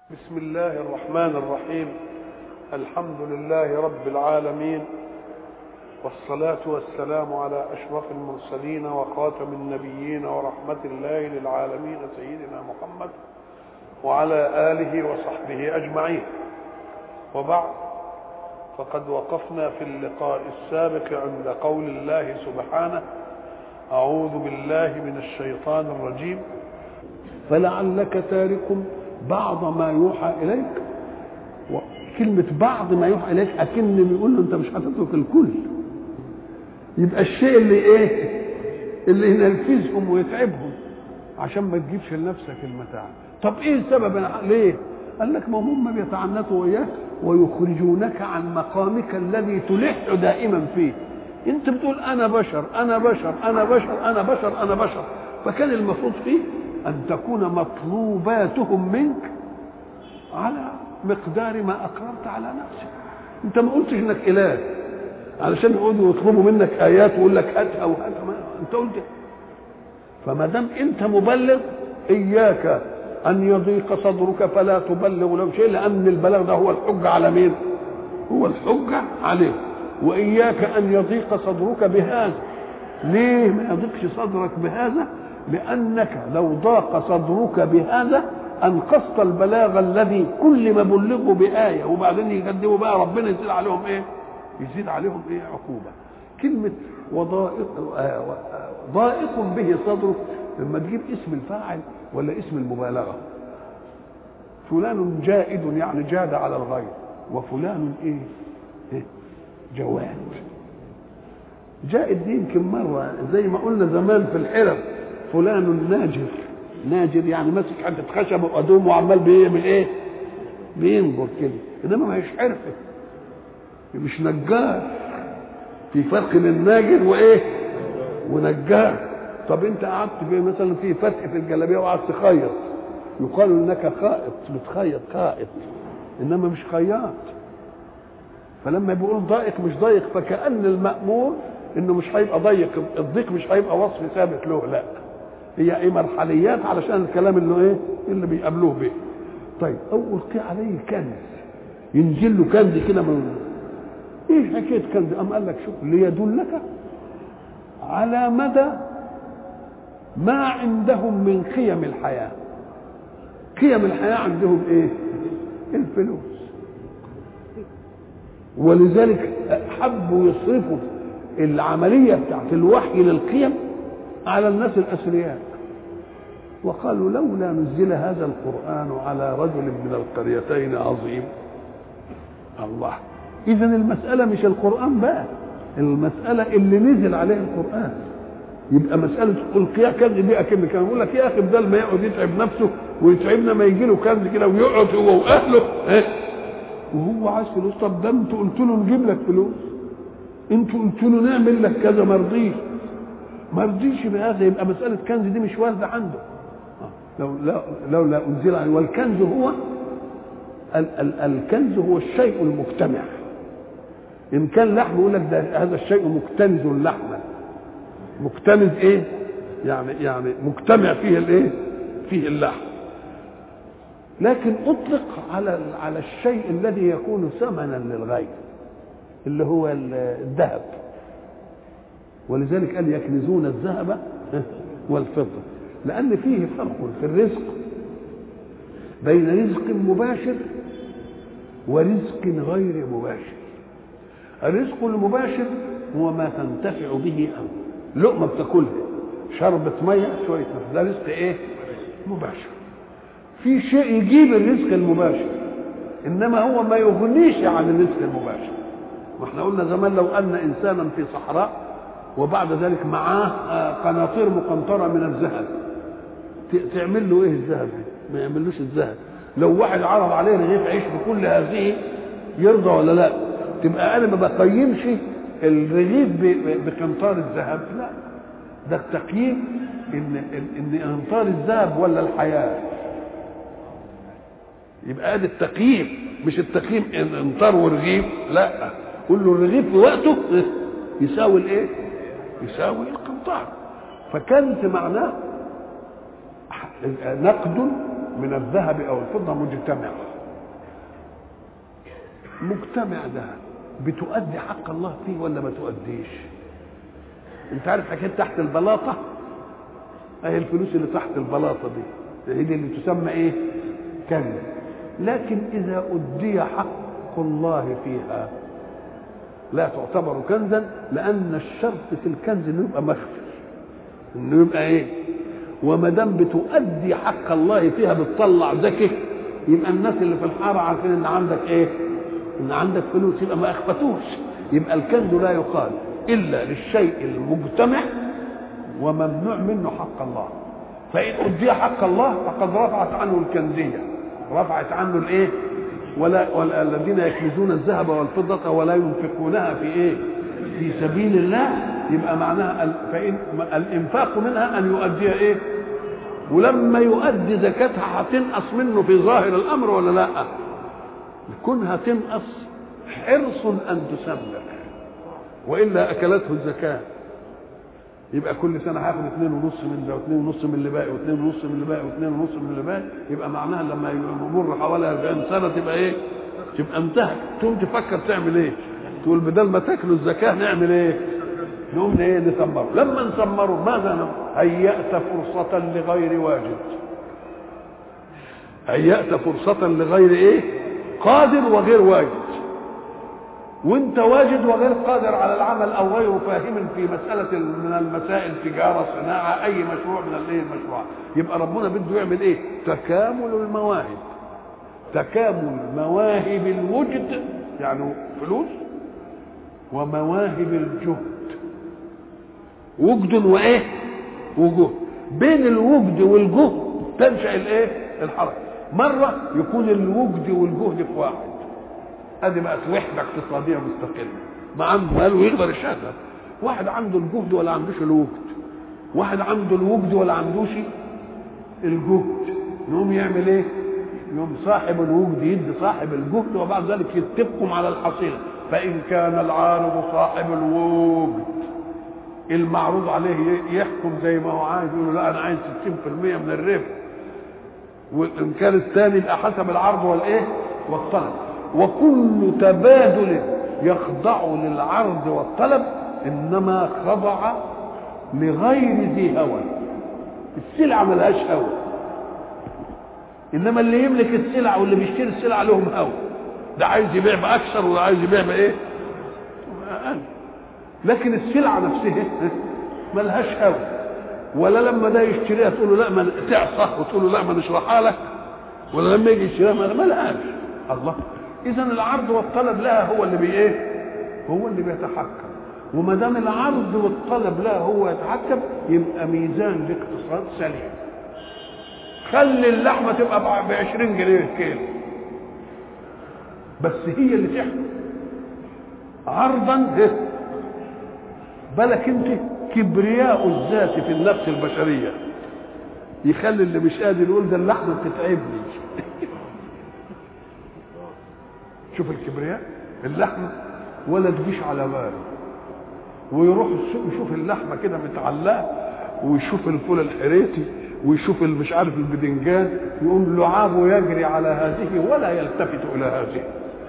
بسم الله الرحمن الرحيم. الحمد لله رب العالمين، والصلاة والسلام على أشرف المرسلين وخاتم النبيين ورحمة الله للعالمين سيدنا محمد وعلى آله وصحبه أجمعين. وبعد، فقد وقفنا في اللقاء السابق عند قول الله سبحانه: أعوذ بالله من الشيطان الرجيم، فلعلك تارك بعض ما يوحى إليك. وكلمة بعض ما يوحى إليك أكن بيقول له أنت مش هتترك الكل، يبقى الشيء اللي ينرفزهم ويتعبهم عشان ما تجيبش لنفسك المتاع. طب إيه السبب؟ ليه؟ قال لك ما هم بيتعنتوا وياك ويخرجونك عن مقامك الذي تلح دائما فيه. أنت بتقول أنا بشر أنا بشر أنا بشر أنا بشر أنا بشر، فكان المفروض فيه أن تكون مطلوباتهم منك على مقدار ما أقررت على نفسك. أنت ما قلتش إنك إله علشان يقعدوا يطلبوا منك آيات ويقول لك هاتها وهاتها، أنت قلت. فما دام أنت مبلغ، إياك أن يضيق صدرك فلا تبلغ له شيء، لأن البلاغ ده هو الحجة على مين؟ هو الحجة عليه. وإياك أن يضيق صدرك بهذا. ليه ما يضيقش صدرك بهذا؟ لأنك لو ضاق صدرك بهذا أنقصت البلاغ الذي كل ما بلغوا بآية وبعدين يقدموا بقى ربنا يزيد عليهم إيه؟ يزيد عليهم إيه؟ عقوبة. كلمة ضائق به صدرك لما تجيب اسم الفاعل ولا اسم المبالغة. فلان جائد يعني جاد على الغير، وفلان إيه؟ جواد. جائد دي يمكن مرة زي ما قلنا زمان في الحرف، فلان ناجر. ناجر يعني ماسك حته خشب وقدوم وعمال بيعمل ايه؟ بينجر كده، انما ما هيش حرفه، مش نجار. في فرق بين ناجر وايه؟ ونجار. طب انت قعدت في مثلا في فتح في الجلابيه وقعدت تخيط، يقال انك خائط، بتخيط خائط، انما مش خياط. فلما بيقول ضايق مش ضايق، فكأن المأمور انه مش هيبقى ضيق، الضيق مش هيبقى وصف ثابت له، لا، هي ايه؟ مرحليات علشان الكلام اللي ايه؟ اللي بيقابلوه به. طيب، او القي عليه كنز، ينزل له كنز كده من ايه؟ حكايه كنز؟ قام قال لك شوف، ليدلك على مدى ما عندهم من قيم الحياه. قيم الحياه عندهم ايه؟ الفلوس. ولذلك حبوا يصرفوا العمليه بتاعت الوحي للقيم على الناس الأثرياء، وقالوا لولا نزل هذا القرآن على رجل من القريتين عظيم. الله، إذن المسألة مش القرآن بقى، المسألة اللي نزل عليه القرآن. يبقى مسألة القيا كنز دي أكن كان يقول لك يا أخي بدل ما يقعد يتعب نفسه ويتعبنا ما يجي له كنز كده ويقعد هو وأهله وهو عايز فلوس. طب ده أنتوا قلتوا له نجيب لك فلوس، أنتوا قلتوا له نعمل لك كذا، ما رضيش. ما رضيش بهذا، يبقى مسألة كنز دي مش واردة عنده. لولا أنزل عليه. والكنز هو الكنز هو الشيء المجتمع. إن كان لحم يقول لك ده هذا الشيء مكتنز لحما. مكتنز إيه؟ يعني مجتمع فيه الإيه؟ فيه اللحم. لكن أطلق على الشيء الذي يكون ثمنا للغير، اللي هو الذهب. ولذلك قال يكنزون الذهب والفضة، لأن فيه فرق في الرزق بين رزق مباشر ورزق غير مباشر. الرزق المباشر هو ما تنتفع به أنت، لقمة بتاكلها، شربة مية، شوية نفس، ده رزق إيه؟ مباشر. في شيء يجيب الرزق المباشر، إنما هو ما يغنيش عن الرزق المباشر. ما احنا قلنا زمان لو أن إنسانا في صحراء وبعد ذلك معاه قناطير مقنطرة من الذهب، تعمل له ايه الذهب؟ ما يعملوش الذهب. لو واحد عرض عليه رغيف عيش بكل هذه يرضى ولا لا؟ تبقى انا ما بقيمش الرغيف بقنطار الذهب، لا، ده التقييم ان قنطار الذهب ولا الحياة. يبقى ادي التقييم، مش التقييم قنطار ورغيف، لا، قول له الرغيف في وقته يساوي الايه؟ يساوي القنطار. فكانت معناه نقد من الذهب او الفضه مجتمع ده بتؤدي حق الله فيه ولا ما تؤديش؟ انت عارف حكايه تحت البلاطه، اهي الفلوس اللي تحت البلاطه دي هي اللي تسمى ايه؟ كنز. لكن اذا ادي حق الله فيها لا تعتبر كنزا، لان الشرط في الكنز انه يبقى مخفي، انه يبقى ايه؟ وما دام بتؤدي حق الله فيها بتطلع زكاه، يبقى الناس اللي في الحاره عارفين ان عندك ايه؟ ان عندك فلوس، يبقى ما اخفتوش. يبقى الكنز لا يقال الا للشيء المجتمع وممنوع منه حق الله. فان ادي حق الله فقد رفعت عنه الكنزيه، رفعت عنه الايه؟ ولا الذين يكنزون الذهب والفضه ولا ينفقونها في ايه؟ في سبيل الله. يبقى معناها فإن الانفاق منها ان يؤدي ايه؟ ولما يؤدي زكاتها هتنقص منه في ظاهر الامر ولا لا؟ كونها تنقص حرص ان تسبح، والا اكلته الزكاه. يبقى كل سنه هاخد 2.5 من ده و2.5 من اللي باقي و2.5 من اللي باقي و2.5 من اللي باقي، يبقى معناها لما يمر حوالي 40 سنه تبقى ايه؟ تبقى انتهت. تقوم تفكر تعمل ايه؟ تقول بدل ما تاكلوا الزكاه نعمل ايه؟ نقوم ايه؟ نثمره. لما نثمره ماذا نعمل؟ هيأت فرصه لغير واجد، هيأت فرصه لغير ايه؟ قادر وغير واجد. وانت واجد وغير قادر على العمل او غير فاهم في مساله من المسائل، تجاره، صناعه، اي مشروع من الايه المشروعات. يبقى ربنا بده يعمل ايه؟ تكامل المواهب، تكامل مواهب الوجد، يعني فلوس، ومواهب الجهد. وجد وايه؟ وجهد. بين الوجد والجهد تنشا الايه؟ الحركه. مره يكون الوجد والجهد في واحد، ادي بقت وحده اقتصاديه مستقله، ما عنده مال ويقدر يشتغل. واحد عنده الجهد ولا عندوش الوجد، واحد عنده الوجد ولا عندوش الجهد، يقوم يعمل ايه؟ يقوم صاحب الوجد يدي صاحب الجهد، وبعد ذلك يتفقوا على الحصيله. فان كان العارض صاحب الوجد المعروض عليه يحكم زي ما هو عايز، يقول له لا انا عايز 60% من الربح، وان كان الثاني يبقى حسب العرض والايه؟ والطلب. وكل تبادل يخضع للعرض والطلب انما خضع لغير ذي هوى. السلعه ملهاش هوى، انما اللي يملك السلعه واللي بيشتري السلعه لهم هوى. ده عايز يبيع باكثر وده عايز يبيع بايه؟ لكن السلعه نفسها ملهاش هوى. ولا لما ده يشتريها تقول له لا ما تعصى، وتقول له لا ما نشرحها لك، ولا لما يجي يشتريها ما لهاش. الله. اذا العرض والطلب لها هو اللي بايه؟ هو اللي بيتحكم. وما دام العرض والطلب لها هو يتحكم، يبقى ميزان الاقتصاد سليم. خلي اللحمه تبقى ب 20 جنيه الكيلو، بس هي اللي تحكم عرضا. بالك انت كبرياء الذات في النفس البشريه يخلي اللي مش قادر يقول ده اللحمه بتتعبني. شوف الكبرياء، اللحمه ولا تجيش على باله، ويروح السوق يشوف اللحمه كده متعلقه، ويشوف الفول الحريتي، ويشوف مش عارف البدنجان، يقوم لعابه يجري على هذه ولا يلتفت الى هذه.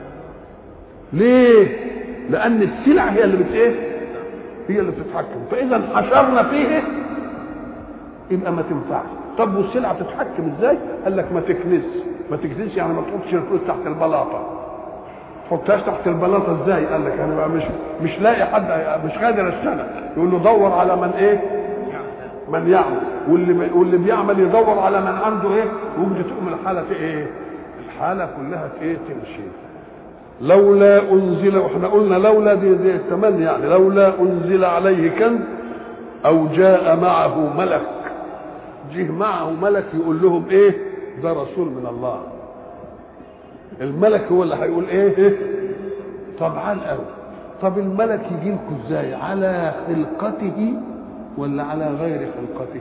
ليه؟ لان السلعه هي اللي هي اللي بتتحكم. فاذا حشرنا فيه يبقى ما تنفعش. طب والسلعه تتحكم ازاي؟ قال لك ما تكنس يعني ما تحطش الفلوس تحت البلاطه. تحطهاش تحت البلاطه ازاي؟ قال لك انا بقى مش لاقي حد، مش قادر اشتغل، يقول له دور على من ايه؟ من يعمل. واللي بيعمل يدور على من عنده ايه؟ وجد. تقوم الحاله ايه؟ الحاله كلها ايه؟ تمشي. لولا انزل، واحنا قلنا لولا دي التمني، يعني لولا انزل عليه كنز او جاء معه ملك. جه معه ملك يقول لهم ايه؟ ده رسول من الله. الملك هو اللي هيقول ايه؟ طبعا قوي. طب الملك يجي لكم ازاي؟ على خلقته ولا على غير خلقته؟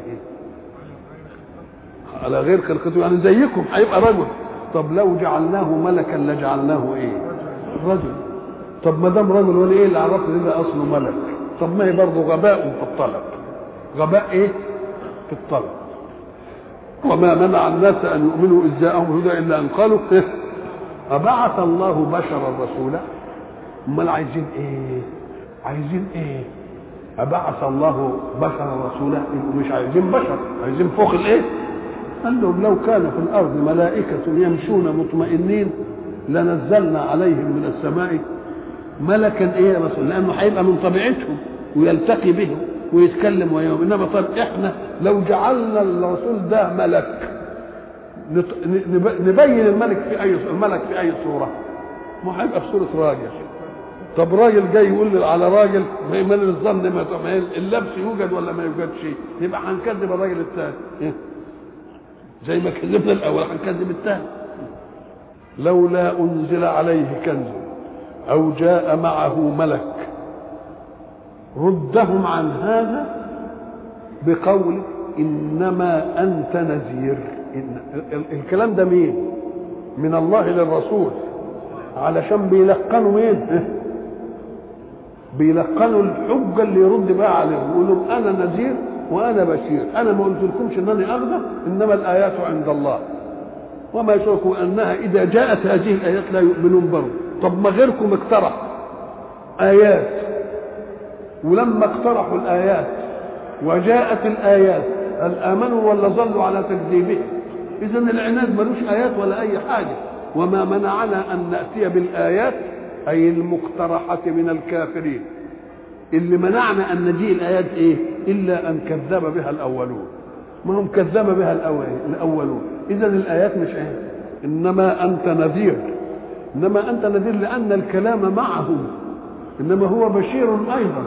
على غير خلقته، يعني زيكم هيبقى رجل. طب لو جعلناه ملكا لجعلناه ايه؟ رجل. طب ما دام رجل ولا ايه اللي عرفنا ده اصله ملك؟ طب ما هي برضه غباء في الطلب. غباء ايه؟ في الطلب. وما منع الناس ان يؤمنوا اذ جاءهم الهدى الا ان قالوا ابعث الله بشرا رسولا. امال عايزين ايه؟ عايزين ايه؟ ابعث الله بشرا رسولا؟ مش عايزين بشر، عايزين فوق الايه؟ قال لهم لو كان في الارض ملائكه يمشون مطمئنين لنزلنا عليهم من السماء ملكا ايه رسول، لانه هيبقى من طبيعتهم ويلتقي بهم ويتكلم ويوم. انما طب احنا لو جعلنا الرسول ده ملك نبين الملك في اي صوره؟ ما هيبقى في صوره راجل. طب راجل جاي يقول على راجل من الظن ما اللبس يوجد ولا ما يوجدش؟ يبقى هنكذب الراجل الثاني زي ما كذبنا الاول هنكذب الثاني. لولا انزل عليه كنز او جاء معه ملك. ردهم عن هذا بقول انما انت نذير. الكلام ده مين؟ من الله للرسول، علشان بيلقنوا مين؟ بيلقنوا الحجه اللي يرد بقى عليهم، يقول لهم انا نذير وانا بشير، انا ما قلت لكمش انني اغضب، انما الايات عند الله وما يشركوا انها اذا جاءت هذه الايات لا يؤمنون برضه. طب ما غيركم اقترح ايات، ولما اقترحوا الايات وجاءت الايات هل امنوا ولا ظلوا على تكذيبهم؟ اذا العناد ملوش ايات ولا اي حاجه. وما منعنا ان ناتي بالايات اي المقترحه من الكافرين، اللي منعنا ان نجيء الايات ايه؟ الا ان كذب بها الاولون. ما هم كذب بها الاولون. اذا الايات مش ايه؟ انما انت نذير. انما انت نذير لان الكلام معهم، انما هو بشير ايضا.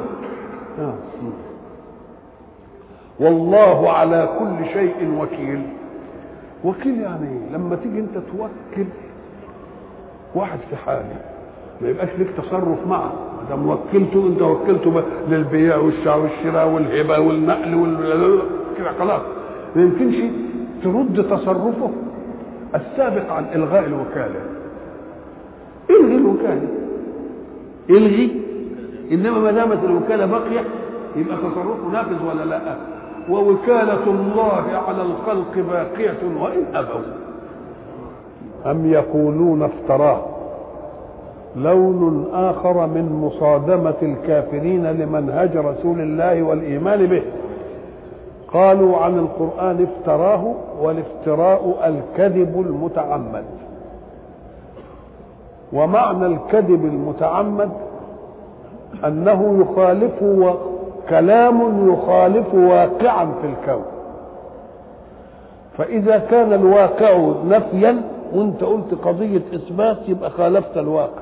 والله على كل شيء وكيل. وكيل يعني لما تيجي انت توكل واحد في حاله ما يبقاش لك تصرف معه، ده موكلته انت وكلته للبيع والشراء والهبه والنقل كده خلاص. ما يمكنش ترد تصرفه السابق عن الغاء الوكاله. الغي الوكاله، الغي. انما ما دامت الوكاله باقيه يبقى تصرفه نافذ ولا لا؟ ووكاله الله على الخلق باقيه وان ابوا. ام يقولون افتراه لون آخر من مصادمة الكافرين لمنهج رسول الله والإيمان به. قالوا عن القرآن افتراه، والافتراء الكذب المتعمد. ومعنى الكذب المتعمد أنه يخالف كلام يخالف واقعا في الكون. فإذا كان الواقع نفيا وانت قلت قضية إثبات يبقى خالفت الواقع.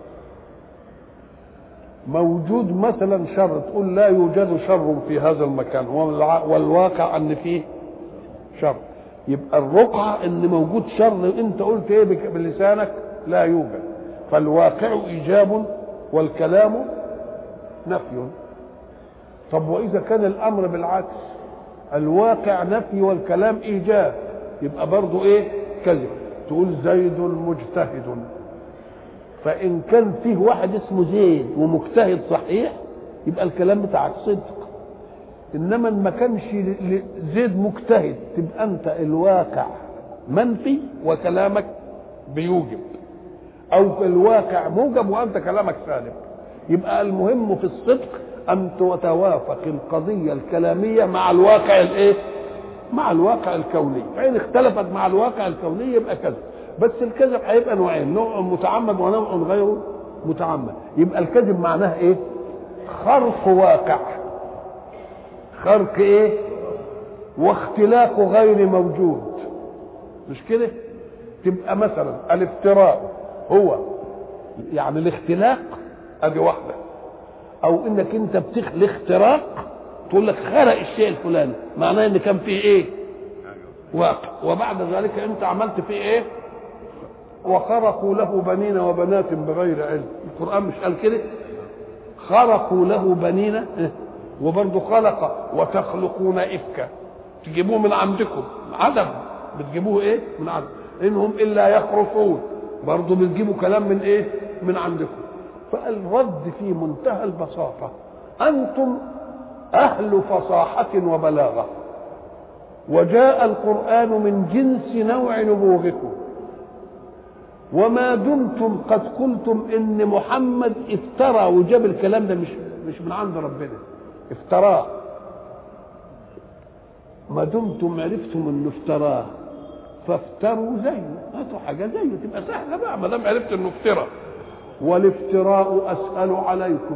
موجود مثلا شر تقول لا يوجد شر في هذا المكان والواقع ان فيه شر، يبقى الرقعة ان موجود شر انت قلت ايه بلسانك؟ لا يوجد. فالواقع ايجاب والكلام نفي. طب واذا كان الامر بالعكس، الواقع نفي والكلام ايجاب، يبقى برضو ايه؟ كذب. تقول زيد مجتهد، فإن كان فيه واحد اسمه زيد ومجتهد صحيح يبقى الكلام بتاعك صدق. إنما ما كانش زيد مجتهد تبقى أنت الواقع منفي وكلامك بيوجب، أو الواقع موجب وأنت كلامك سالب. يبقى المهم في الصدق أن تتوافق القضية الكلامية مع الواقع الإيه؟ مع الواقع الكوني. فإن اختلفت مع الواقع الكوني يبقى كذب. بس الكذب هيبقى نوعين، نوع متعمد ونوع غير متعمد. يبقى الكذب معناه ايه؟ خرق واقع، خرق ايه؟ واختلاق غير موجود، مش كده؟ تبقى مثلا الافتراء هو يعني الاختلاق، ادي واحده. او انك انت بتخلق اختراق، تقول لك خرق الشيء الفلاني، معناه ان كان فيه ايه؟ واقع، وبعد ذلك انت عملت فيه ايه؟ وخرقوا له بنين وبنات بغير علم. القرآن مش قال كده؟ خرقوا له بنين، وبرضه خلق وتخلقون إفكا، تجيبوه من عندكم عدم، بتجيبوه ايه؟ من عدم. انهم الا يخرصون، برضه بتجيبوا كلام من ايه؟ من عندكم. فالرد في منتهى البساطة، انتم اهل فصاحة وبلاغة، وجاء القرآن من جنس نوع نبوغكم، وما دمتم قد قلتم ان محمد افترى وجاب الكلام ده مش من عند ربنا، افتراه، ما دمتم عرفتم انه افتراه فافتروا زيه، هاتوا حاجه زيه تبقى سهله بقى ما دام عرفت انه افترى. والافتراء اسهل عليكم،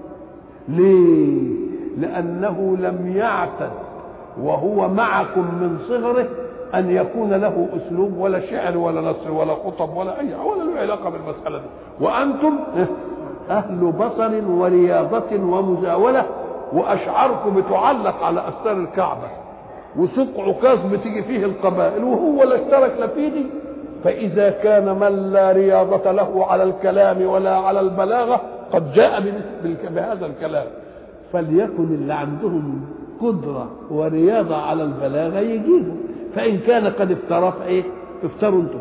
ليه؟ لانه لم يعتد وهو معكم من صغره ان يكون له اسلوب ولا شعر ولا نثر ولا خطب ولا اي ولا له علاقه بالمساله دي، وانتم اهل بصر ورياضه ومزاوله، واشعاركم بتعلق على استار الكعبه، وسوق عكاظ بتيجي فيه القبائل وهو لا اشترك لا في دي. فاذا كان من لا رياضه له على الكلام ولا على البلاغه قد جاء بهذا الكلام، فليكن اللي عندهم قدره ورياضه على البلاغه يجيبوا، فان كان قد افترى فايه؟ افتروا انتم.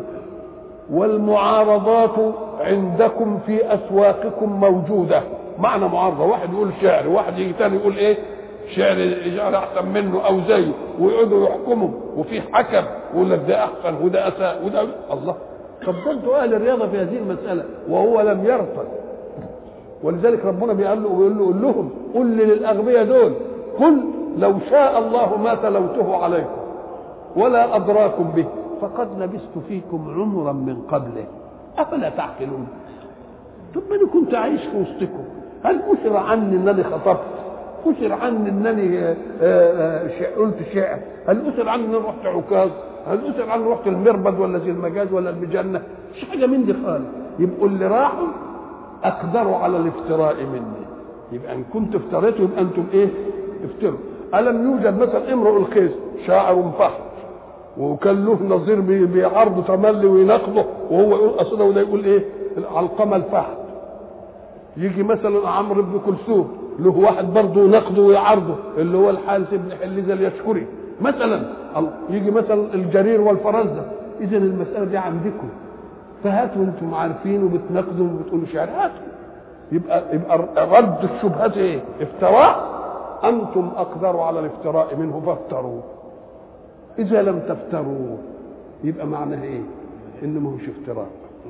والمعارضات عندكم في اسواقكم موجوده، معنى معارضه، واحد يقول شعر وواحد يجي تاني يقول ايه؟ شعر احسن منه او زيه، ويقعدوا يحكموا، وفي حكم ويقول لك ده احسن وده اساء وده الله. طب ده انتوا اهل الرياضه في هذه المساله وهو لم يرفض. ولذلك ربنا بيقول له قول لهم، قل للاغبياء دول، قل لو شاء الله ما تلوته عليكم ولا ادراكم به فقد لبثت فيكم عمرا من قبله افلا تعقلون. طب انا كنت عايش في وسطكم، هل أشر عني انني خطبت؟ أشر عني انني قلت شعر؟ هل أشر عني انني رحت عكاظ؟ هل أشر عني رحت المربد ولا زي المجاز ولا المجنة؟ مش حاجه من دي خالص. يبقوا اللي راحوا اقدروا على الافتراء مني، يبقى ان كنت افتريتوا يبقى انتم ايه؟ افتروا. الم يوجد مثلا امرؤ القيس شاعر فحت وكان له نظير بيعرضه تملي ويناقضه وهو يقول اصلا وده يقول ايه؟ علقمه الفحت. يجي مثلا عمرو بن كلثوم له واحد برضه يناقضه ويعرضه اللي هو الحارث بن حليزه اليشكري مثلا. يجي مثلا الجرير والفرزدق. اذا المساله دي عندكم، فهاتوا انتم عارفين وبتناقضوا وبتقولوا شعر، هاتوا. يبقى رد الشبهات ايه؟ افتراء. انتم اقدروا على الافتراء منه فافتروا. اذا لم تفتروا يبقى معناها ايه؟ انه ما هوش افتراء.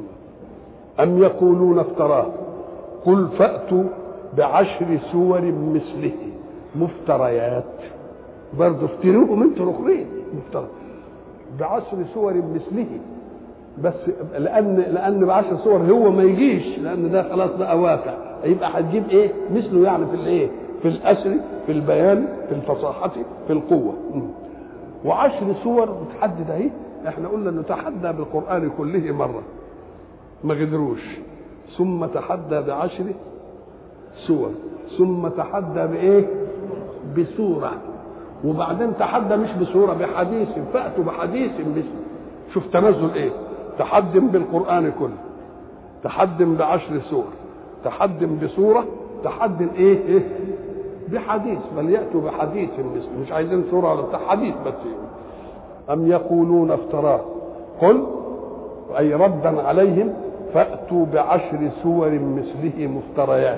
ام يقولون افتراه قل فاتوا بعشر سور مثله مفتريات، برضه افتروهم انتوا الاخرين مفترى بعشر سور مثله، بس لان بعشر صور هو ما يجيش، لان ده خلاص بقى واقع، يبقى هتجيب ايه؟ مثله يعني في الايه؟ في الاسر، في البيان، في الفصاحه، في القوه. وعشر سور بتحدد اهي. احنا قلنا انه تحدى بالقران كله مره ما قدروش، ثم تحدى بعشر سور، ثم تحدى بايه؟ بسوره، وبعدين تحدى مش بسوره، بحديث، فاتوا بحديث مثله. شوف تنزل ايه؟ تحدم بالقران كله، تحدم بعشر سور، تحدم بسوره، تحدم ايه؟ بحديث، بل ياتوا بحديث مثله، مش عايزين سوره ولا بتاع، حديث بس. ام يقولون افتراه قل اي ردا عليهم فاتوا بعشر سور مثله مفتريات،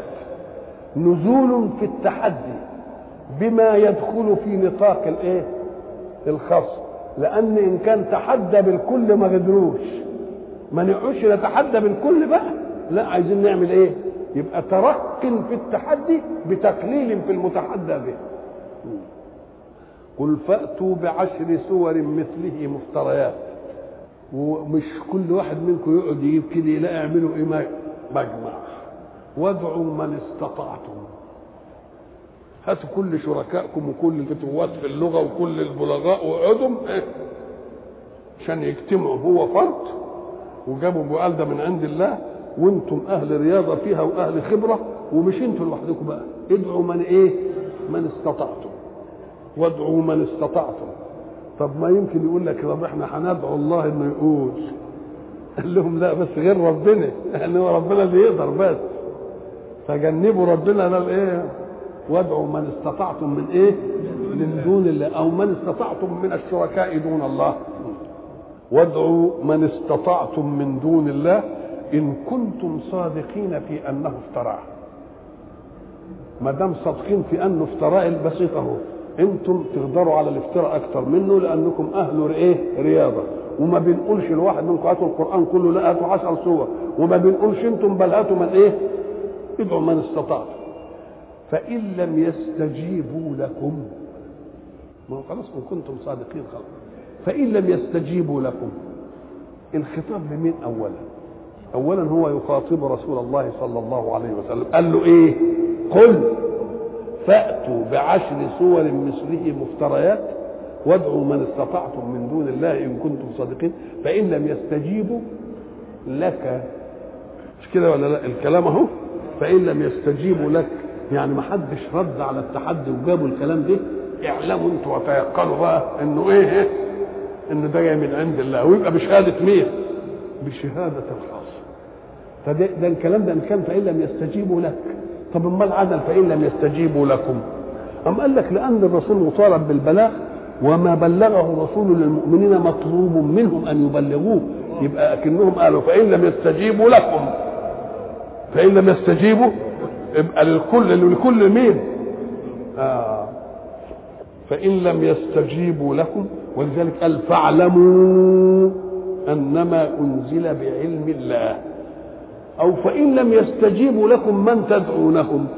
نزول في التحدي بما يدخل في نطاق الايه؟ الخاص، لان ان كان تحدى بالكل ما قدروش، ما نقعدش نتحدى بالكل بقى، لا عايزين نعمل ايه؟ يبقى ترق في التحدي بتقليل في المتحدى به. قل فاتوا بعشر سور مثله مفتريات، ومش كل واحد منكم يقعد يجيب كده، لا اعملوا ايه؟ مجمع، وادعوا من استطعتم، هاتوا كل شركائكم وكل الفتوات في اللغه وكل البلغاء واقعدوا عشان يجتمعوا، هو فرد وجابوا بقال ده من عند الله، وانتم اهل رياضه فيها واهل خبره، ومش انتم لوحدكم بقى، ادعوا من ايه؟ من استطعتم، وادعوا من استطعتم. طب ما يمكن يقول لك طب احنا هندعو الله انه يقول، قال لهم لا بس غير ربنا، يعني هو ربنا اللي يقدر بس، فجنبوا ربنا ده الايه؟ وادعوا من استطعتم من ايه؟ من دون الله، او من استطعتم من الشركاء دون الله. وادعوا من استطعتم من دون الله ان كنتم صادقين في انه افتراه. ما دام صادقين في انه افتراء البسيط اهو، انتم تقدروا على الافتراء اكتر منه لانكم اهل ايه رياضه، وما بنقولش الواحد منكم هاتوا القران كله، لا هاتوا 10 سور، وما بنقولش انتم بل هاتوا من ايه ادعوا من استطعتم. فان لم يستجيبوا لكم، ما هو خلاص ان كنتم صادقين خلاص. فان لم يستجيبوا لكم، الخطاب لمين اولا هو يخاطب رسول الله صلى الله عليه وسلم، قال له ايه؟ قل فأتوا بعشر سور مثله مفتريات وادعوا من استطعتم من دون الله إن كنتم صادقين فإن لم يستجيبوا لك. مش كده ولا لا؟ الكلام اهو، فإن لم يستجيبوا لك يعني ما حدش رد على التحدي وجابوا الكلام ده، اعلموا انتوا وتيقنوا بقى انه ايه؟ ان ده جاي من عند الله، ويبقى بشهادة مين؟ بشهادة الخاص. فده الكلام ده ان كان فإن لم يستجيبوا لك. طب امال عدل فإن لم يستجيبوا لكم؟ أم قال لك لأن الرسول مطالب بالبلاغ، وما بلغه الرسول للمؤمنين مطلوب منهم أن يبلغوه، يبقى أكنهم قالوا فإن لم يستجيبوا لكم، فإن لم يستجيبوا يبقى لكل مين؟ فإن لم يستجيبوا لكم، ولذلك قال فاعلموا أنما أنزل بعلم الله، أو فإن لم يستجيبوا لكم من تدعونهم.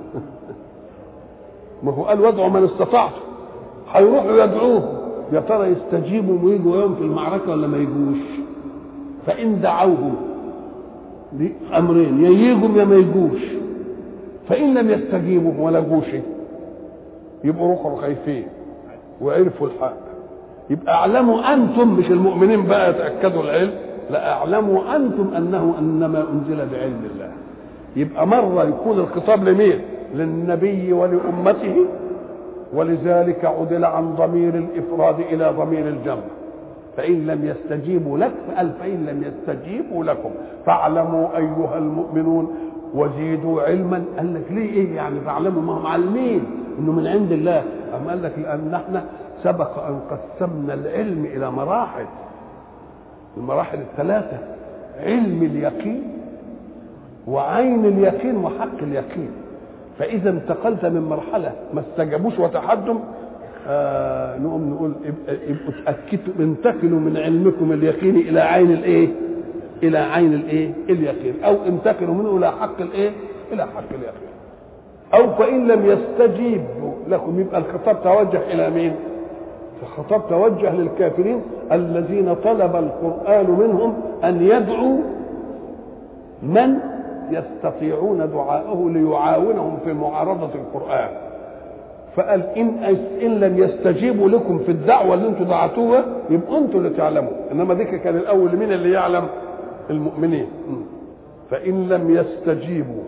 ما هو قال وادعوا من استطعتم، هيروحوا يدعوهم، يا ترى يستجيبوا ويجوا يوم في المعركة ولا ما يجوش؟ فإن دعوهم أمرين، يا يجوا يا ما يجوش. فإن لم يستجيبوا ولا جوش يبقوا روحوا خايفين وعرفوا الحق. يبقى اعلموا أنتم، مش المؤمنين بقى يتأكدوا العلم، لا اعلموا أنتم أنه إنما أنزل بعلم الله. يبقى مرة يكون الخطاب لمين؟ للنبي ولأمته، ولذلك عدل عن ضمير الإفراد إلى ضمير الجمع. فإن لم يستجيبوا لك، فقال فإن لم يستجيبوا لكم فاعلموا أيها المؤمنون وزيدوا علما. قال لك ليه ايه يعني فاعلموا؟ ما هم عالمين انه من عند الله. أما قال لك لأن احنا سبق أن قسمنا العلم إلى مراحل، المراحل الثلاثة: علم اليقين وعين اليقين وحق اليقين. فإذا انتقلت من مرحلة ما استجابوش وتحدم، نقوم نقول ابقوا تأكدوا، انتقلوا من علمكم اليقيني إلى عين الإيه؟ إلى عين الإيه؟ اليقين، أو انتقلوا منه إلى حق الإيه؟ إلى حق اليقين. أو فإن لم يستجيبوا لكم، يبقى الخطاب توجه إلى مين؟ الخطاب توجه للكافرين الذين طلب القرآن منهم أن يدعوا من يستطيعون دعاءه ليعاونهم في معارضة القرآن. فقال إن لم يستجيبوا لكم في الدعوة اللي انتم دعتوها يبقى انتم اللي تعلموا، انما ديك كان الاول مين اللي يعلم؟ المؤمنين. فإن لم يستجيبوا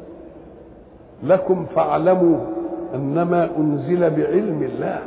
لكم فاعلموا انما انزل بعلم الله.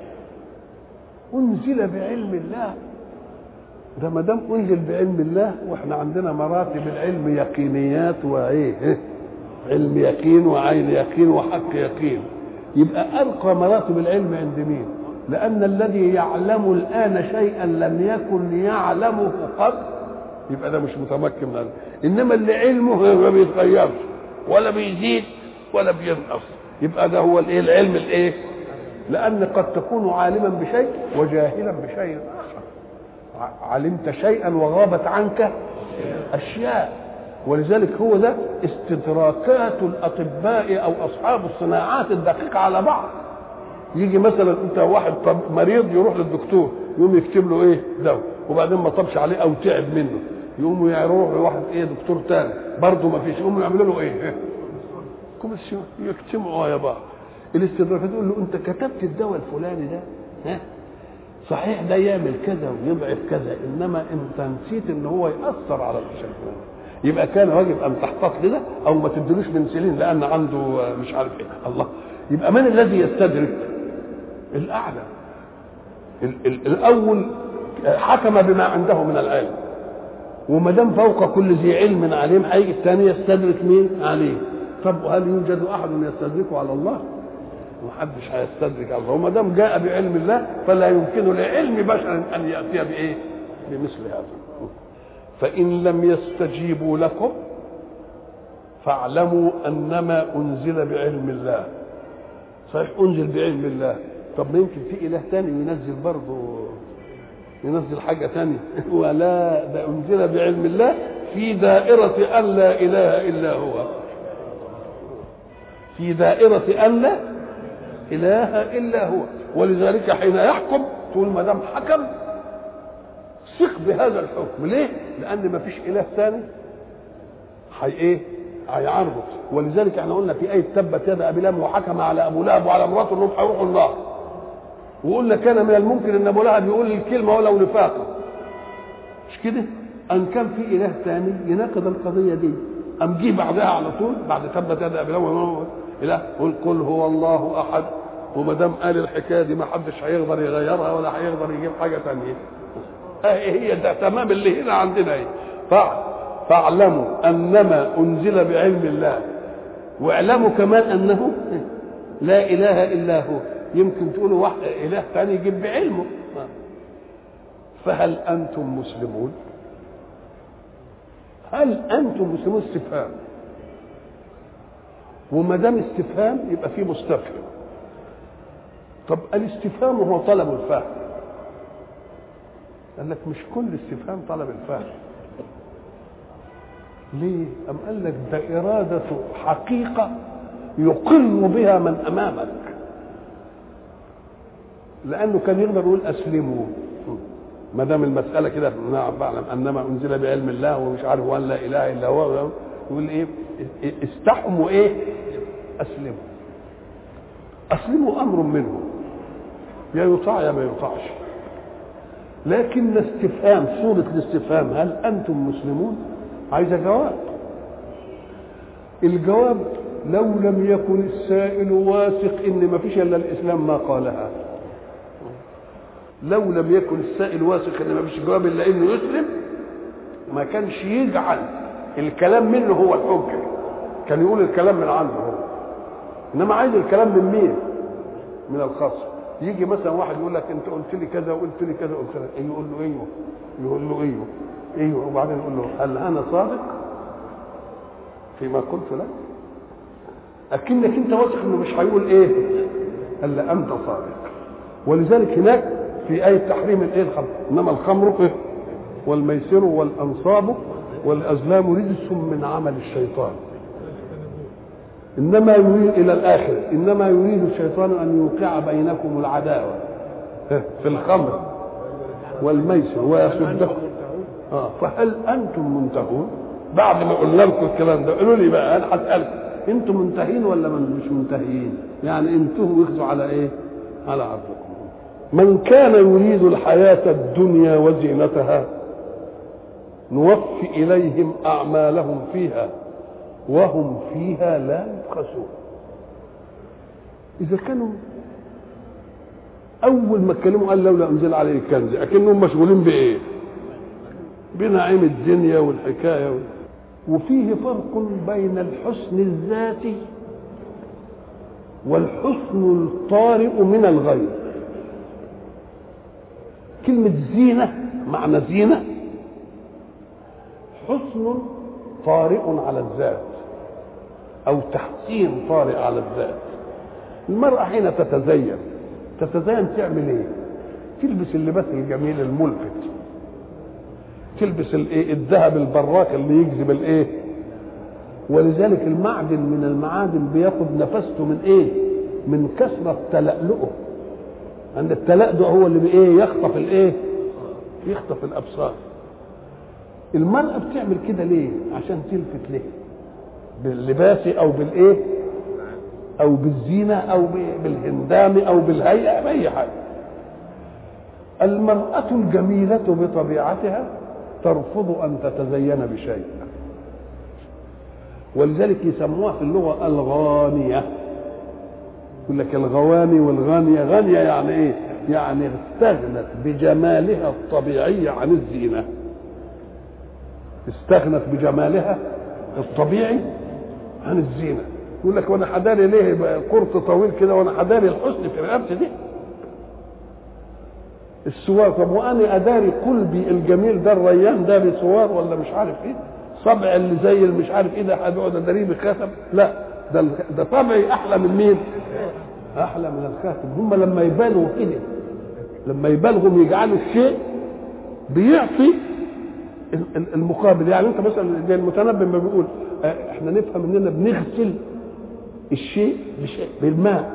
انزل بعلم الله، ده ما دام انزل بعلم الله، واحنا عندنا مراتب العلم يقينيات وايه؟ علم يقين وعين يقين وحق يقين. يبقى ارقى مراتب العلم عند مين؟ لان الذي يعلم الان شيئا لم يكن يعلمه قبل يبقى ده مش متمكن من العلم. انما اللي علمه ما بيتغيرش ولا بيزيد ولا بينقص، يبقى ده هو الايه؟ العلم الايه؟ لان قد تكون عالما بشيء وجاهلا بشيء اخر. علمت شيئا وغابت عنك اشياء. ولذلك هو ده استدراكات الاطباء او اصحاب الصناعات الدقيقه على بعض. يجي مثلا انت واحد مريض يروح للدكتور يقوم يكتب له ايه؟ دواء، وبعدين ما طبش عليه او تعب منه يقوموا يروح لواحد ايه؟ دكتور تاني برضه ما فيش، يقوموا يعملوا له ايه؟ كوميسيون، يجتمعوا يا بعض. الاستدراكات تقول له انت كتبت الدواء الفلاني ده، ها صحيح ده يعمل كذا ويضعف كذا، انما انت نسيت ان هو ياثر على الشيء الفلاني. يبقى كان واجب ان تحتاط كده او ما تدلوش بنسلين لان عنده مش عارف ايه. الله، يبقى من الذي يستدرك؟ الاعلى. الاول حكم بما عنده من العلم، وما دام فوق كل ذي علم عليم هيجي الثاني يستدرك مين؟ عليه. طب هل يوجد احد يستدركه على الله؟ محدش هيستدرك على الله. وما دام جاء بعلم الله فلا يمكن لعلم بشر ان ياتي بايه؟ بمثل هذا. فإن لم يستجيبوا لكم فاعلموا أنما أنزل بعلم الله. صحيح أنزل بعلم الله، طب ما يمكن في اله تاني ينزل برضه، ينزل حاجه تانية. ولا ده انزل بعلم الله في دائره ان لا اله الا هو، في دائره ان لا اله الا هو. ولذلك حين يحكم تقول ما دام حكم ثق بهذا الحكم. ليه؟ لان ما فيش اله ثاني هيعرض. ولذلك احنا قلنا في ايه تبت يد ابي لهب وحكم على ابو لهب وعلى مراته انهم هيروحوا النار، وقلنا كان من الممكن ان ابو لهب يقول الكلمه ولو نفاقا، مش كده؟ ان كان في اله ثاني يناقض القضيه دي، ام جه بعدها على طول بعد تبت يد ابي لهب اله قل هو الله احد، وما دام قال الحكايه دي ما حدش هيقدر يغيرها ولا هيقدر يجيب حاجه ثانيه. هي ده تمام اللي هنا عندنا ايه. فاعلموا انما انزل بعلم الله، واعلموا كمان انه لا اله الا هو. يمكن تقولوا واحد اله ثاني يجيب بعلمه. فهل انتم مسلمون؟ هل انتم مسلمون؟ استفهام، وما دام استفهام يبقى فيه مستفهم. طب الاستفهام هو طلب الفهم. قال لك مش كل استفهام طلب الفهم. ليه؟ أم قال لك ده إرادة حقيقة يقر بها من أمامك، لأنه كان يقدر يقول أسلموا ما دام المسألة كده، نعم بعلم أنما أنزل بعلم الله ومش عارف وأن لا إله إلا هو، يقول إيه؟ استحموا إيه؟ أسلموا. أسلموا أمر منه، يا يطاع يا ما يطاعش. لكن استفهام، صورة الاستفهام هل أنتم مسلمون؟ عايزة جواب. الجواب لو لم يكن السائل واثق ان ما فيش الا الاسلام ما قالها. لو لم يكن السائل واثق ان ما فيش جواب الا انه يسلم ما كانش يجعل الكلام منه هو الحجه، كان يقول الكلام من عنده هو. انما عايز الكلام من مين؟ من الخصم. يجي مثلا واحد يقول لك انت قلت لي كذا وقلت لي كذا وقلت لك، يقول له ايوه، يقول له ايوه ايوه، وبعدين يقول له هل انا صادق فيما قلت لك؟ اكنك انت واثق انه مش هيقول ايه الا انت صادق. ولذلك هناك في ايه تحريم الايه الخمر، انما الخمر والميسر والانصاب والازلام رجس من عمل الشيطان، انما يريد الى الاخر انما يريد الشيطان ان يوقع بينكم العداوه في الخمر والميسر ويصدكم. فهل انتم منتهون؟ بعد ما قلنا لكم الكلام ده قولوا لي بقى، انا هسالكم انتم منتهين ولا مش منتهين؟ يعني انتم واخذوا على ايه؟ على عرضكم. من كان يريد الحياه الدنيا وزينتها نوفي اليهم اعمالهم فيها وهم فيها لا يبخسون. اذا كانوا اول ما اتكلموا قال لولا انزل عليه الكنز، اكنهم مشغولين بايه؟ بنعيم الدنيا والحكايه وفيه فرق بين الحسن الذاتي والحسن الطارئ من الغير. كلمة زينة معنى زينة حسن طارئ على الذات أو تحسين طارئ على الذات. المرأة حين تتزين تعمل ايه؟ تلبس اللباس الجميل الملفت، تلبس الايه؟ الذهب البراق اللي يجذب الايه؟ ولذلك المعدن من المعادن بياخد نفسته من ايه؟ من كثرة تلألؤه. عند التلألؤ هو اللي بايه؟ يخطف الايه؟ يخطف الابصار. المرأة بتعمل كده ليه؟ عشان تلفت ليه؟ باللباس او بالايه؟ او بالزينة او بالهندام او بالهيئة، باي حاجة. المرأة الجميلة بطبيعتها ترفض ان تتزين بشيء، ولذلك يسموها في اللغة الغانية. يقول لك الغواني والغانية. غانية يعني ايه؟ يعني استغنت بجمالها الطبيعي عن الزينة، استغنت بجمالها الطبيعي عن الزينة. يقول لك وانا حداري ليه قرط طويل كده وانا حداري الحسن في رقبتي دي السوار؟ طب وانا اداري قلبي الجميل ده الريان ده بسوار ولا مش عارف ايه؟ صبع اللي زي اللي مش عارف ايه ده هقعد اداريه بخاتم؟ لا، ده طبعي احلى من مين؟ احلى من الخاتم. هم لما يبالغوا كده، لما يبالغوا يجعلوا الشيء بيعطي المقابل. يعني انت مثلا زي المتنبي ما بيقول احنا نفهم اننا بنغسل الشيء بشيء بالماء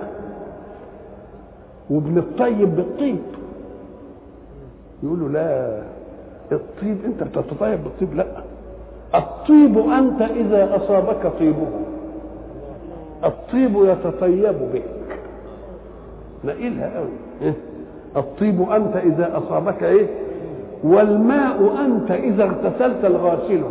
وبنطيب بالطيب. يقولوا لا، الطيب انت بتتطيب بالطيب، لا، الطيب انت اذا اصابك طيبه، الطيب يتطيب بك. نقلها قوي. الطيب انت اذا اصابك ايه، والماء انت اذا اغتسلت الغاسله.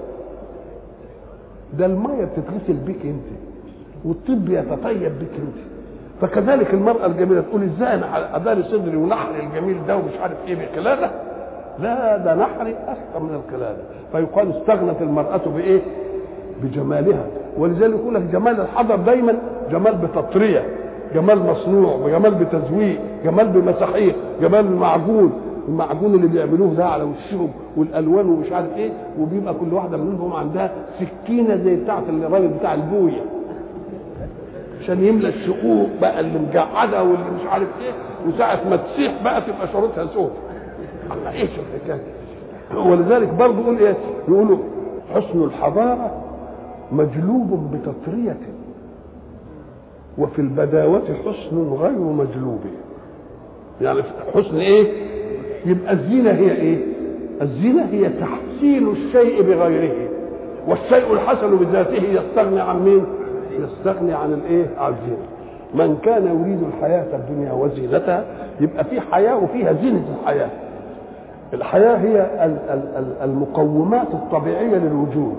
ده الميه بتتغسل بك انت، والطيب يتطيب بك انت. فكذلك المرأة الجميلة تقول ازاي انا اداري صدري ونحري الجميل ده ومش عارف ايه بقلادة؟ لا، ده نحري اكثر من القلادة. فيقال استغنت المرأة بايه؟ بجمالها. ولذلك يقول لك جمال الحضر دايما جمال بتطرية، جمال مصنوع، جمال بتزويق، جمال بمساحيق، جمال المعجون اللي بيعملوه ده على وشهم والالوان ومش عارف ايه، وبيبقى كل واحده منهم عندها سكينه زي بتاعه الراجل بتاع البويه عشان يملى الشقوق بقى اللي مجعده واللي مش عارف ايه، وساعه ما تسيح بقى تبقى شروطها سود. الله، ايش الحكايه؟ ولذلك برضه يقول ايه؟ يقولوا حسن الحضاره مجلوب بتطريه، وفي البداوه حسن غير مجلوب. يعني حسن ايه؟ يبقى الزينه هي ايه؟ الزينه هي تحسين الشيء بغيره، والشيء الحسن بذاته يستغني عن مين؟ يستغني عن الايه؟ عن الزينه. من كان يريد الحياه الدنيا وزينتها، يبقى في حياه وفيها زينه الحياه. الحياه هي المقومات الطبيعيه للوجود،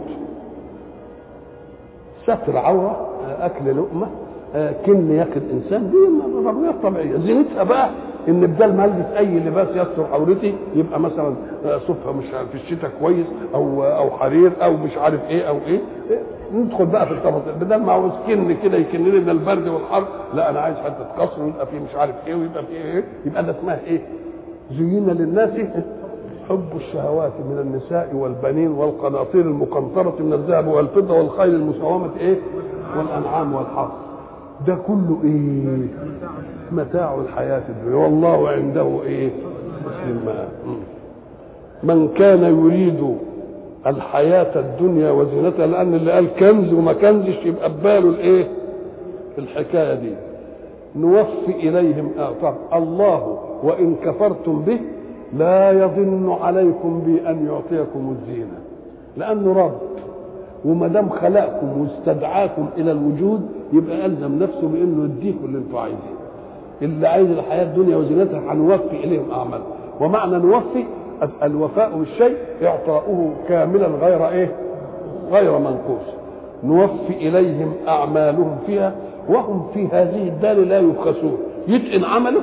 ستر عوره، اكل لقمه، كن ياكل انسان، دي ضروريات طبيعيه. زينتها بقى ان بدل ما البس اي لباس يستر عورتي يبقى مثلا صفها مش في الشتاء كويس او حرير او مش عارف ايه او ايه. ندخل بقى في التفاصيل. بدل ما عاوز كن كده يكن لي من البرد والحر، لا انا عايز حته قصر ويبقى فيه مش عارف ايه ويبقى فيه ايه. يبقى ده اسمها ايه؟ زين للناس حب الشهوات من النساء والبنين والقناطير المقنطرة من الذهب والفضة والخيل المسومة ايه؟ والانعام والحرث. ده كله ايه؟ متاع الحياة الدنيا، والله عنده ايه؟ من كان يريد الحياة الدنيا وزينتها، لأن اللي قال كنز وما كنزش يبقى بباله الايه؟ الحكاية دي. نوفي إليهم طب الله وإن كفرتم به لا يظن عليكم بأن يعطيكم الزينة، لأنه رب، وما دام خلقكم واستدعاكم إلى الوجود يبقى ألزم نفسه بأنه يديكم اللي أنتم عايزينه. اللي عايز الحياة الدنيا وزينتها هنوفي إليهم أعمالهم. ومعنى نوفي الوفاء بالشيء إعطاؤه كاملا غير إيه؟ غير منقوص. نوفي إليهم أعمالهم فيها وهم في هذه الدار لا يبخسون. يتقن عمله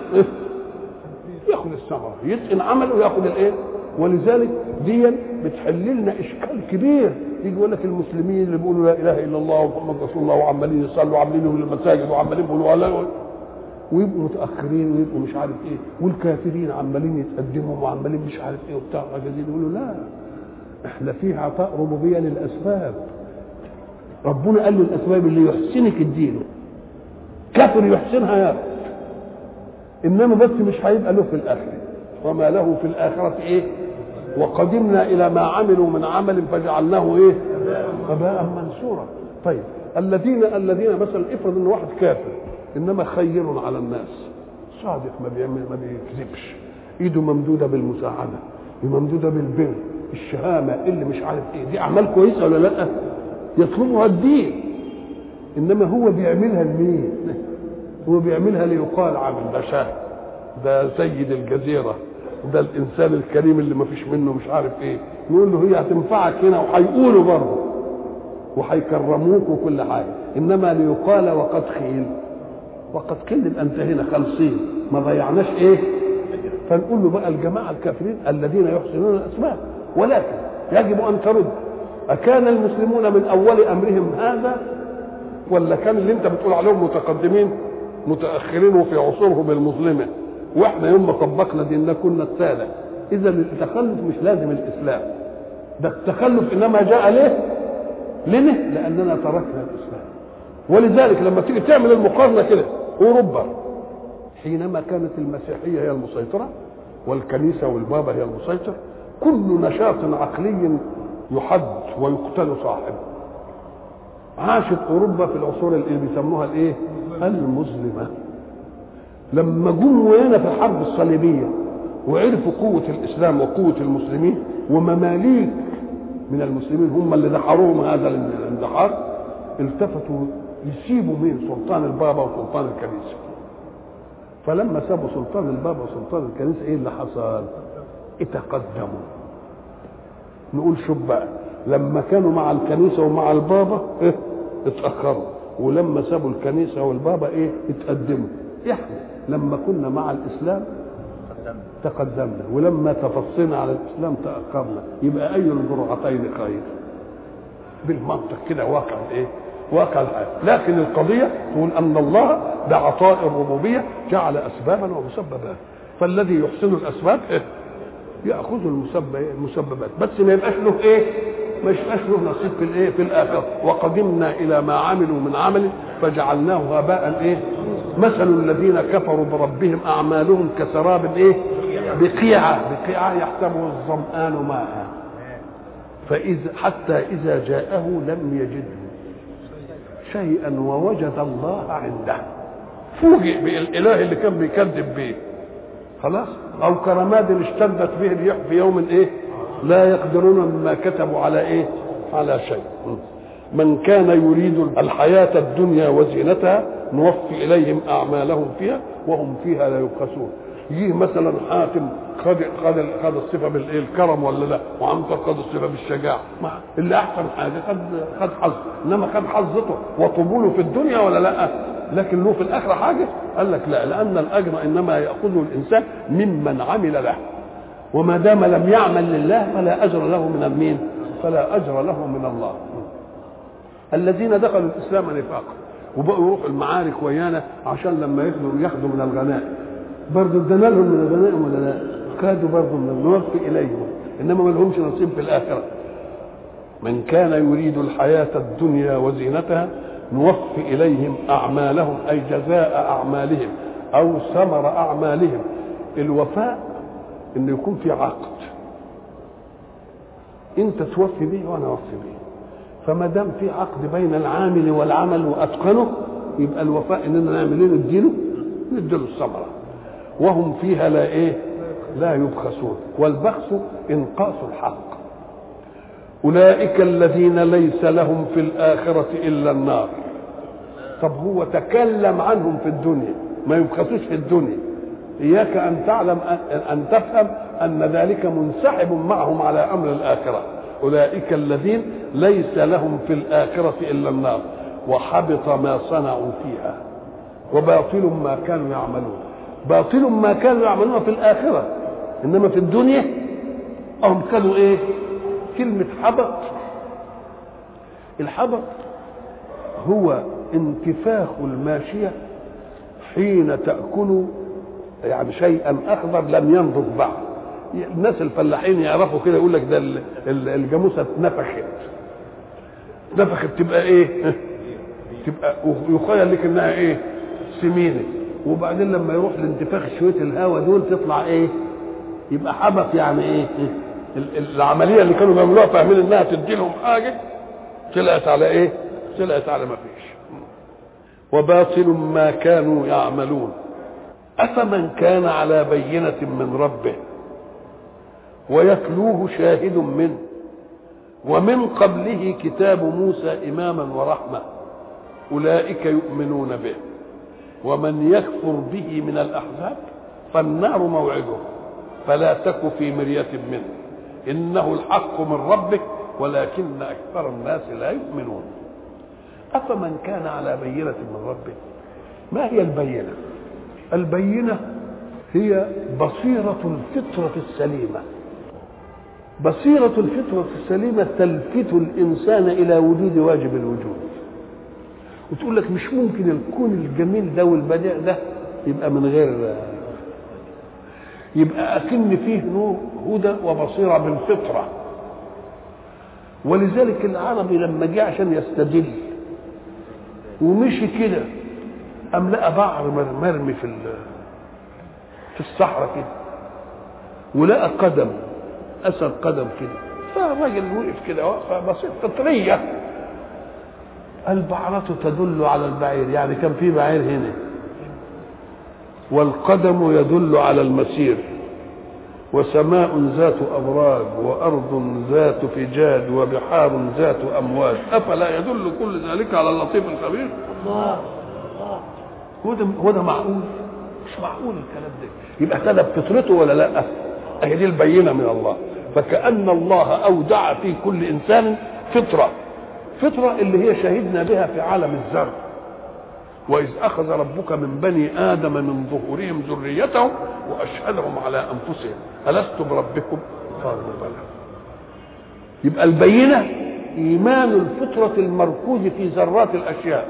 ياخذ الثمره، يتقن عمله ياخذ الايه. ولذلك دي بتحل لنا اشكال كبير. يجي يقول لك المسلمين اللي بيقولوا لا اله الا الله ومحمد رسول الله وعمالين يصلوا وعاملين لهم المساجد وعمالين يقولوا لا، ويبقوا متاخرين ويبقوا مش عارف ايه، والكافرين عمالين يتقدموا وعمالين مش عارف ايه وبتاع جديد. يقولوا لا، احنا فيه عطاء ربوبيه للاسباب. ربنا قال له الاسباب اللي يحسنك اديله، كافر يحسنها ياخذ، انما بس مش هيبقى له في الاخره. وما له في الاخره ايه؟ وقدمنا الى ما عملوا من عمل فجعلناه ايه؟ هباء منثورا. طيب الذين مثلا افرض ان واحد كافر انما خير على الناس، صادق، ما بيكذبش، ايده ممدوده بالمساعده، ممدوده بالبر، الشهامه، اللي مش عارف ايه، دي اعمال كويسه ولا لا؟ يطلبها الدين. انما هو بيعملها لمين؟ هو بيعملها ليقال عامل ده شاه، ده سيد الجزيره، ده الانسان الكريم اللي ما فيش منه مش عارف ايه. نقول له هي هتنفعك هنا وهيقولوا برضه وهيكرموك وكل حاجه، انما ليقال وقد خيل. وقد خيل يبقى انت هنا خالصين ما ضيعناش ايه. فنقول له بقى الجماعه الكافرين الذين يحسنون الاسباب، ولكن يجب ان ترد، اكان المسلمون من اول امرهم هذا، ولا كان اللي انت بتقول عليهم متقدمين متاخرين وفي عصورهم المظلمه، واحنا يوم ما طبقنا ديننا كنا الساده؟ اذا التخلف مش لازم الاسلام، ده التخلف انما جاء ليه؟ لاننا تركنا الاسلام. ولذلك لما تيجي تعمل المقارنه كده أوروبا حينما كانت المسيحية هي المسيطرة والكنيسة والبابا هي المسيطر، كل نشاط عقلي يحد ويقتل صاحبه. عاشت أوروبا في العصور اللي بيسموها الإيه؟ المظلمة. لما جم وهنا في الحرب الصليبية وعرفوا قوة الإسلام وقوة المسلمين، ومماليك من المسلمين هم اللي دحروهم هذا الاندحار، التفتوا يسيبوا مين؟ سلطان البابا وسلطان الكنيسة. فلما سابوا سلطان البابا وسلطان الكنيسة ايه اللي حصل؟ اتقدموا. نقول شوف بقى، لما كانوا مع الكنيسة ومع البابا ايه؟ اتأخروا، ولما سابوا الكنيسة والبابا ايه؟ اتقدموا. احنا لما كنا مع الإسلام تقدمنا، ولما تفصينا على الإسلام تأخرنا. يبقى أي الجرعتين خير؟ بالمنطق كده واقع ايه؟ واقع الحياة. لكن القضية تقول أن الله بعطاء الربوبية جعل أسبابا ومسببات، فالذي يحسن الأسباب إيه؟ يأخذ المسببات، بس ما يبقاش له إيه؟ ما يبقاش له نصيب في الإيه؟ في الآخرة. وقدمنا إلى ما عملوا من عمل فجعلناه هباء إيه؟ مثل الذين كفروا بربهم أعمالهم كسراب إيه؟ بقيعة يحسبه الظمآن ماء فإذا حتى إذا جاءه لم يجده شيئا ووجد الله عنده. فوجئ بالإله اللي كان بيكذب به خلاص. أو كرماد اشتدت به الريح في يوم إيه؟ لا يقدرون مما كتبوا على إيه؟ على شيء. من كان يريد الحياة الدنيا وزينتها نوفي إليهم أعمالهم فيها وهم فيها لا يبخسون. يجي مثلا حاتم خد الصفه بالكرم ولا لا، وعنتر خد الصفه بالشجاعه، اللي احسن حاجه خد حظ، انما خد حظته وطبوله في الدنيا ولا لا؟ لكن له في الاخره حاجه؟ قال لك لا، لان الاجر انما ياخذه الانسان ممن عمل له، وما دام لم يعمل لله فلا اجر له من المين؟ فلا اجر له من الله. الذين دخلوا الاسلام نفاقا وبقوا يروحوا المعارك ويانا عشان لما ياخذوا من الغنائم، برضه ادانا لهم من الغنائم ولا لا؟ خدوا برضه من نوفي اليهم، انما ما لهمش نصيب في الاخره. من كان يريد الحياه الدنيا وزينتها نوفي اليهم اعمالهم، اي جزاء اعمالهم او ثمر اعمالهم. الوفاء انه يكون في عقد، انت توفي به وانا اوفي به، فما دام في عقد بين العامل والعمل واتقنه يبقى الوفاء اننا نعمل ايه؟ نديله الثمره. وهم فيها لا ايه؟ لا يبخسون. والبخس انقاص الحق. اولئك الذين ليس لهم في الاخره الا النار. طب هو تكلم عنهم في الدنيا، ما يبخسوش في الدنيا. اياك ان تعلم ان تفهم ان ذلك منسحب معهم على امر الاخره. اولئك الذين ليس لهم في الاخره الا النار وحبط ما صنعوا فيها وباطل ما كانوا يعملون. باطل ما كانوا يعملون في الآخرة، إنما في الدنيا هم كانوا إيه؟ كلمة حبط. الحبط هو انتفاخ الماشية حين تأكل يعني شيئا أخضر لم ينضج بعد. الناس الفلاحين يعرفوا كده، يقول لك ده الجاموسة نفخت تبقى إيه؟ تبقى يخيل لك إنها إيه؟ سمينة، وبعدين لما يروح لانتفاخ شويه الهواء دول تطلع ايه؟ يبقى حبط. يعني ايه؟ العمليه اللي كانوا بيعملوها فاهمين انها تدي لهم حاجه طلعت على ايه؟ طلعت على ما فيش. وباطل ما كانوا يعملون. افمن كان على بينه من ربه ويتلوه شاهد منه ومن قبله كتاب موسى اماما ورحمه اولئك يؤمنون به ومن يكفر به من الأحزاب فالنار موعده فلا تك في مرية منه إنه الحق من ربك ولكن أكثر الناس لا يؤمنون. أفمن كان على بينة من ربه. ما هي البينة؟ البينة هي بصيرة الفطرة السليمة. بصيرة الفطرة السليمة تلفت الإنسان إلى وجود واجب الوجود، وتقول لك مش ممكن الكون الجميل ده والبديع ده يبقى من غير، يبقى أكن فيه نور هدى وبصيرة بالفطرة. ولذلك العربي لما جه عشان يستدل ومشي كده أم لقى بعر مرمي في الصحراء كده، ولقى قدم، أثر قدم كده، فالراجل وقف كده وقفة بسيطة فطرية، البعرة تدل على البعير، يعني كان في بعير هنا، والقدم يدل على المسير، وسماء ذات أبراج وأرض ذات فجاج وبحار ذات أمواج، أفلا يدل كل ذلك على اللطيف الخبير؟ الله هو ده معقول؟ مش معقول الكلام ده. يبقى اهتدى بفطرته ولا لا؟ هي دي البينة من الله. فكأن الله أودع في كل إنسان فطرة اللي هي شهدنا بها في عالم الذر، وإذ أخذ ربك من بني آدم من ظهورهم ذريتهم وأشهدهم على أنفسهم ألست بربكم؟ قالوا بلى. يبقى البينة إيمان الفطرة المركوز في ذرات الأشياء،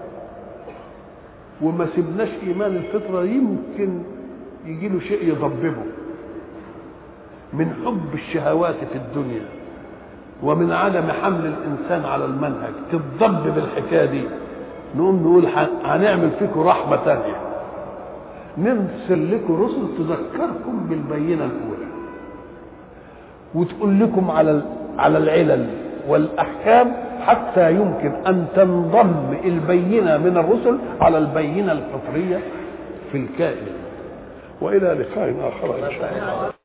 وما سبناش إيمان الفطرة يمكن يجي له شيء يضببه من حب الشهوات في الدنيا ومن عدم حمل الإنسان على المنهج، تتضبب الحكاية دي، نقوم نقول هنعمل فيكم رحمة تانية، نرسل لكم رسل تذكركم بالبينة الأولى وتقول لكم على العلل والأحكام حتى يمكن أن تنضم البينة من الرسل على البينة الفطرية في الكائن. وإلى لقاء آخر إن شاء الله.